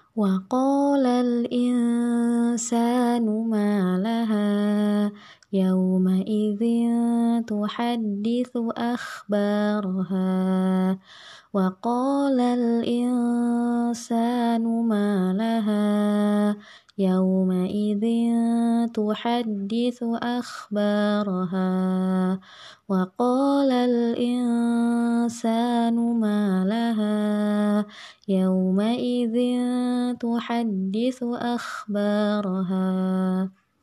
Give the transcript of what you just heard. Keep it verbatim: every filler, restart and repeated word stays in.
وقال الإنسان ما لها يومئذ تحدث أخبارها وقال الإنسان ما لها يومئذ تحدث أخبارها وقال الإنسان ما لها يومئذ تحدث أخبارها